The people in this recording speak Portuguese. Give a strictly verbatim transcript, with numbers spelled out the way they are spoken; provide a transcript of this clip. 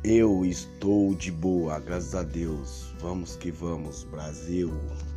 Eu estou de boa, graças a Deus. Vamos que vamos, Brasil.